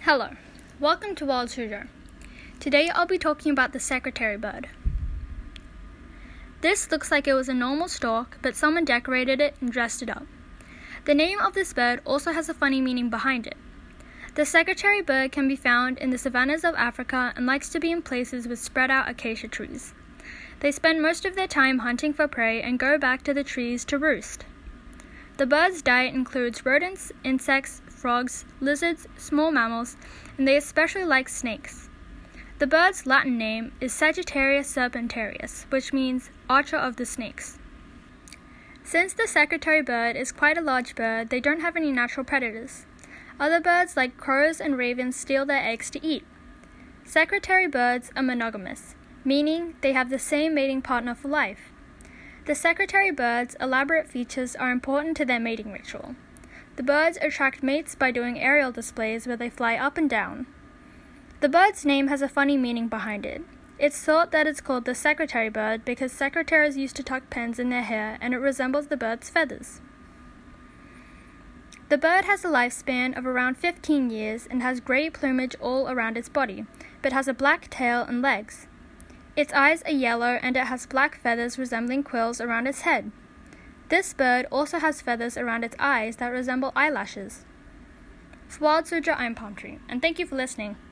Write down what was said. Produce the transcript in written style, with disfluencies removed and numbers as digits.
Hello, welcome to Wild Suzhou. Today I'll be talking about the secretary bird. This looks like it was a normal stork, but someone decorated it and dressed it up. The name of this bird also has a funny meaning behind it. The secretary bird can be found in the savannas of Africa and likes to be in places with spread out acacia trees. They spend most of their time hunting for prey and go back to the trees to roost. The bird's diet includes rodents, insects, frogs, lizards, small mammals, and they especially like snakes. The bird's Latin name is Sagittarius serpentarius, which means archer of the snakes. Since the secretary bird is quite a large bird, they don't have any natural predators. Other birds like crows and ravens steal their eggs to eat. Secretary birds are monogamous, meaning they have the same mating partner for life. The secretary bird's elaborate features are important to their mating ritual. The birds attract mates by doing aerial displays where they fly up and down. The bird's name has a funny meaning behind it. It's thought that it's called the secretary bird because secretaries used to tuck pens in their hair and it resembles the bird's feathers. The bird has a lifespan of around 15 years and has grey plumage all around its body, but has a black tail and legs. Its eyes are yellow and it has black feathers resembling quills around its head. This bird also has feathers around its eyes that resemble eyelashes. For Wild Suzhou, I'm Palm Tree, and thank you for listening.